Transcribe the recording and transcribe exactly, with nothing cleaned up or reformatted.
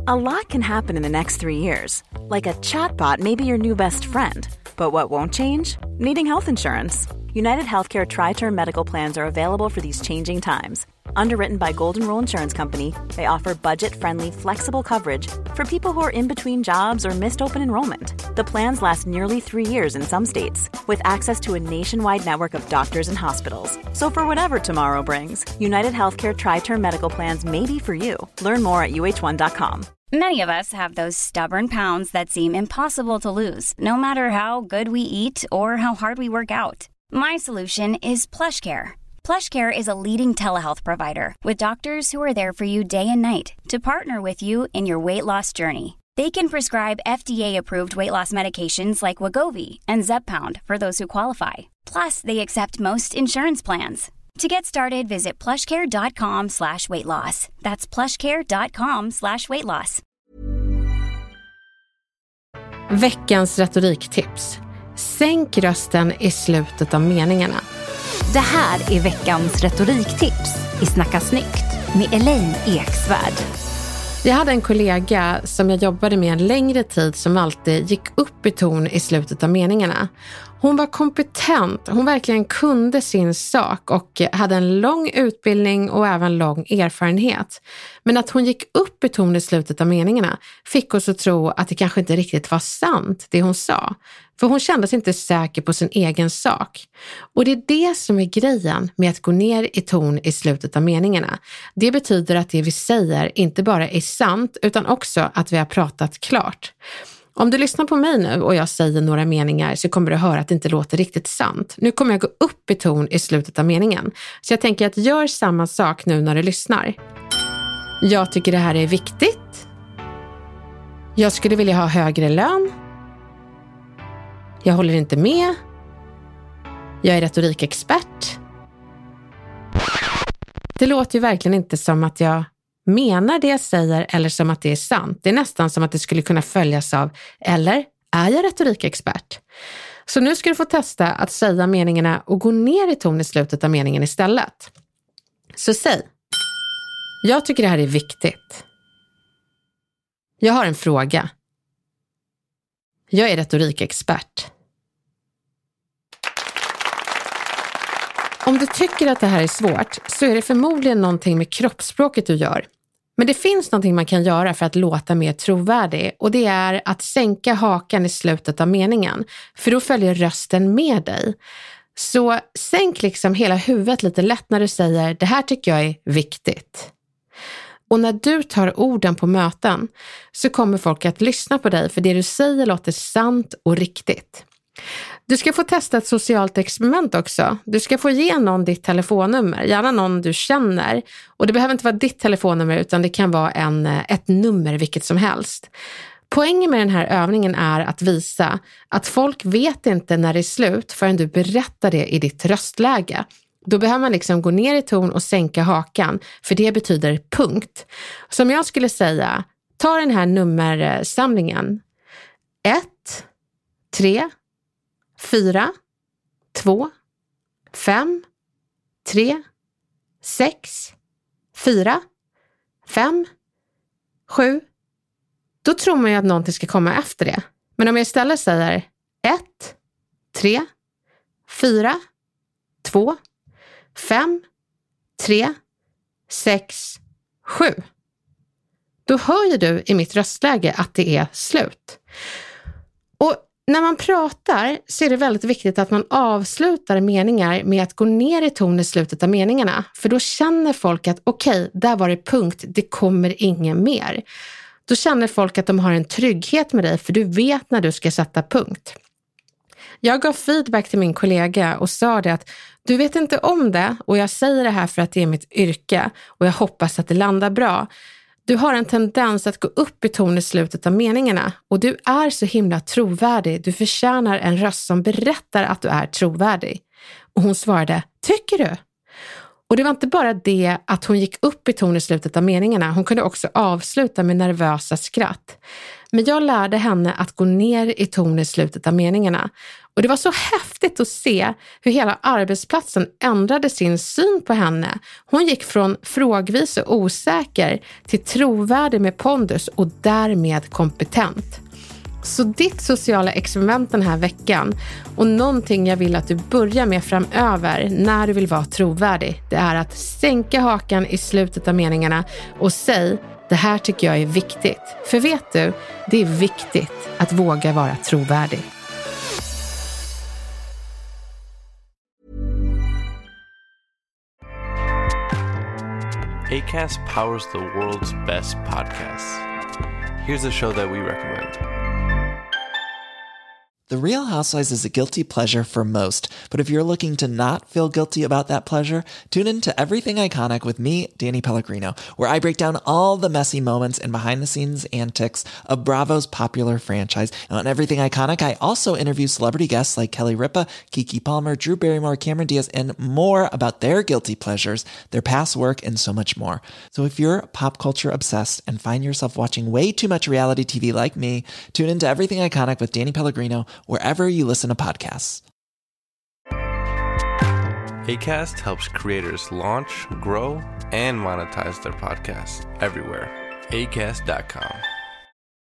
A lot can happen in the next three years. Like a chatbot may be your new best friend. But what won't change? Needing health insurance. United Healthcare Tri-Term Medical Plans are available for these changing times. Underwritten by Golden Rule Insurance Company, they offer budget-friendly, flexible coverage for people who are in between jobs or missed open enrollment. The plans last nearly three years in some states, with access to a nationwide network of doctors and hospitals. So for whatever tomorrow brings, United Healthcare Tri-Term Medical Plans may be for you. Learn more at U H one dot com. Many of us have those stubborn pounds that seem impossible to lose, no matter how good we eat or how hard we work out. My solution is PlushCare. PlushCare is a leading telehealth provider with doctors who are there for you day and night to partner with you in your weight loss journey. They can prescribe F D A-approved weight loss medications like Wegovy and Zepbound for those who qualify. Plus, they accept most insurance plans. To get started, visit plushcare.com slash weight loss. That's plushcare.com slash weight loss. Veckans retoriktips. Sänk rösten i slutet av meningarna. Det här är veckans retoriktips i Snacka snyggt med Elaine Eksvärd. Jag hade en kollega som jag jobbade med en längre tid som alltid gick upp i ton i slutet av meningarna. Hon var kompetent, hon verkligen kunde sin sak och hade en lång utbildning och även lång erfarenhet. Men att hon gick upp i ton i slutet av meningarna fick oss att tro att det kanske inte riktigt var sant det hon sa. För hon kände sig inte säker på sin egen sak. Och det är det som är grejen med att gå ner i ton i slutet av meningarna. Det betyder att det vi säger inte bara är sant utan också att vi har pratat klart. Om du lyssnar på mig nu och jag säger några meningar så kommer du höra att det inte låter riktigt sant. Nu kommer jag gå upp i ton i slutet av meningen. Så jag tänker att gör samma sak nu när du lyssnar. Jag tycker det här är viktigt. Jag skulle vilja ha högre lön. Jag håller inte med. Jag är retorikexpert. Det låter ju verkligen inte som att jag menar det jag säger eller som att det är sant. Det är nästan som att det skulle kunna följas av eller är jag retorikexpert? Så nu ska du få testa att säga meningarna och gå ner i ton i slutet av meningen istället. Så säg. Jag tycker det här är viktigt. Jag har en fråga. Jag är retorikexpert. Om du tycker att det här är svårt så är det förmodligen någonting med kroppsspråket du gör. Men det finns någonting man kan göra för att låta mer trovärdig och det är att sänka hakan i slutet av meningen. För då följer rösten med dig. Så sänk liksom hela huvudet lite lätt när du säger det här tycker jag är viktigt. Och när du tar orden på möten så kommer folk att lyssna på dig för det du säger låter sant och riktigt. Du ska få testa ett socialt experiment också. Du ska få ge någon ditt telefonnummer, gärna någon du känner. Och det behöver inte vara ditt telefonnummer utan det kan vara en, ett nummer vilket som helst. Poängen med den här övningen är att visa att folk vet inte när det är slut förrän du berättar det i ditt röstläge. Då behöver man liksom gå ner i ton och sänka hakan för det betyder punkt. Som jag skulle säga, ta den här nummersamlingen. ett, tre, fyra, två, fem, tre, sex, fyra, fem, sju. Då tror man ju att någonting ska komma efter det. Men om jag istället säger ett, tre, fyra, två, fem, tre, sex, sju. Då hör ju du i mitt röstläge att det är slut. Och när man pratar så är det väldigt viktigt att man avslutar meningar med att gå ner i ton i slutet av meningarna. För då känner folk att okej, okay, där var det punkt, det kommer ingen mer. Då känner folk att de har en trygghet med dig för du vet när du ska sätta punkt. Jag gav feedback till min kollega och sa det att du vet inte om det och jag säger det här för att det är mitt yrke och jag hoppas att det landar bra. Du har en tendens att gå upp i ton i slutet av meningarna och du är så himla trovärdig. Du förtjänar en röst som berättar att du är trovärdig. Och hon svarade, tycker du? Och det var inte bara det att hon gick upp i ton i slutet av meningarna, hon kunde också avsluta med nervösa skratt. Men jag lärde henne att gå ner i ton i slutet av meningarna. Och det var så häftigt att se hur hela arbetsplatsen ändrade sin syn på henne. Hon gick från frågvis och osäker till trovärdig med pondus och därmed kompetent. Så ditt sociala experiment den här veckan och någonting jag vill att du börjar med framöver när du vill vara trovärdig, det är att sänka hakan i slutet av meningarna och säg: det här tycker jag är viktigt. För vet du, det är viktigt att våga vara trovärdig. Acast powers the world's best podcasts. Here's a show that we recommend. The Real Housewives is a guilty pleasure for most, but if you're looking to not feel guilty about that pleasure, tune in to Everything Iconic with me, Danny Pellegrino, where I break down all the messy moments and behind-the-scenes antics of Bravo's popular franchise. And on Everything Iconic, I also interview celebrity guests like Kelly Ripa, Keke Palmer, Drew Barrymore, Cameron Diaz, and more about their guilty pleasures, their past work, and so much more. So if you're pop culture obsessed and find yourself watching way too much reality T V like me, tune into Everything Iconic with Danny Pellegrino, wherever you listen to podcasts. Acast helps creators launch, grow, and monetize their podcasts everywhere. acast dot com.